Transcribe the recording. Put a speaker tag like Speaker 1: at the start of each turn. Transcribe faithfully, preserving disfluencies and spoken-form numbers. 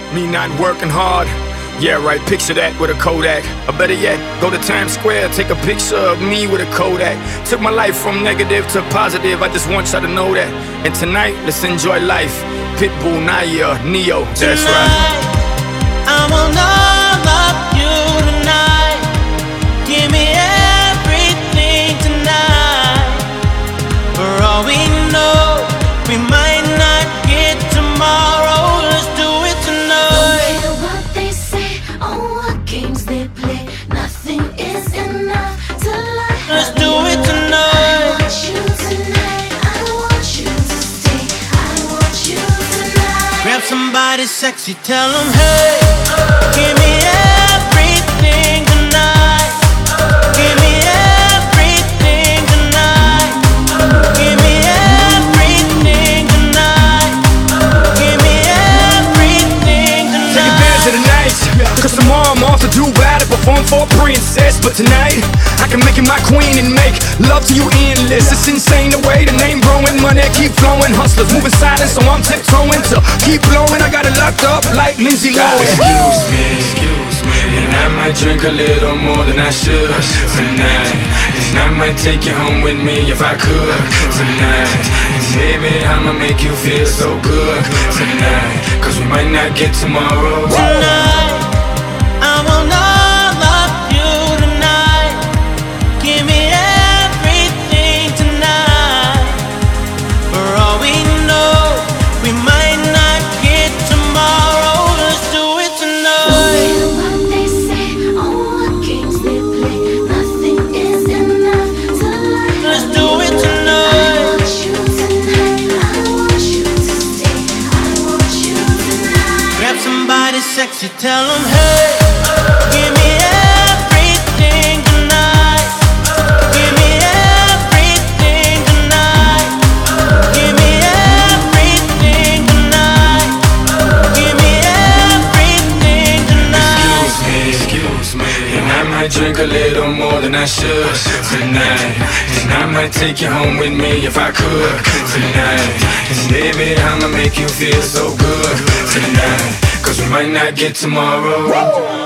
Speaker 1: Me not working hard. Yeah, right, picture that with a Kodak. Or better yet, go to Times Square, take a picture of me with a Kodak. Took my life from negative to positive, I just want y'all to know that. And tonight, let's enjoy life. Pitbull, Naya, Neo, that's
Speaker 2: tonight,
Speaker 1: right.
Speaker 2: I want all of you tonight. Give me everything tonight. For all we know, we might not get tomorrow. Let's do it tonight.
Speaker 3: No matter what they say or what games they play, nothing is enough to lie.
Speaker 2: Let's do it tonight.
Speaker 3: I want you tonight. I want you to stay. I want you tonight.
Speaker 2: Grab somebody sexy, tell them hey. Give me everything tonight. Give me everything tonight. Give me everything tonight. Give me everything tonight.
Speaker 1: Take advantage of the night, cause tomorrow I'm off to do battle, perform for a princess. But tonight, I can make you my queen and make love to you endless. It's insane the way the name growing, money keep flowing. Hustlers moving silent, so I'm tiptoeing to keep blowing. I got it locked up like Lindsay Lohan.
Speaker 4: Excuse me, excuse me, and I might drink a little more than I should tonight. And I might take you home with me if I could tonight. And baby, I'ma make you feel so good tonight, cause we might not get tomorrow.
Speaker 2: Tonight, I want all of you tonight. Give me everything tonight. For all we know, we might not get tomorrow. Let's do it
Speaker 3: No
Speaker 2: tonight.
Speaker 3: matter what they say or what games they play, nothing is enough to lie.
Speaker 2: Let's do it
Speaker 3: I
Speaker 2: tonight.
Speaker 3: want you tonight. I want you to stay. I want you tonight.
Speaker 2: Grab somebody sexy, tell them hey. Give me everything tonight. Give me everything tonight. Give me everything tonight. Give me everything tonight.
Speaker 4: Excuse me, excuse me, and I might drink a little more than I should tonight. And I might take you home with me if I could tonight. And baby, I'ma make you feel so good tonight, cause we might not get tomorrow.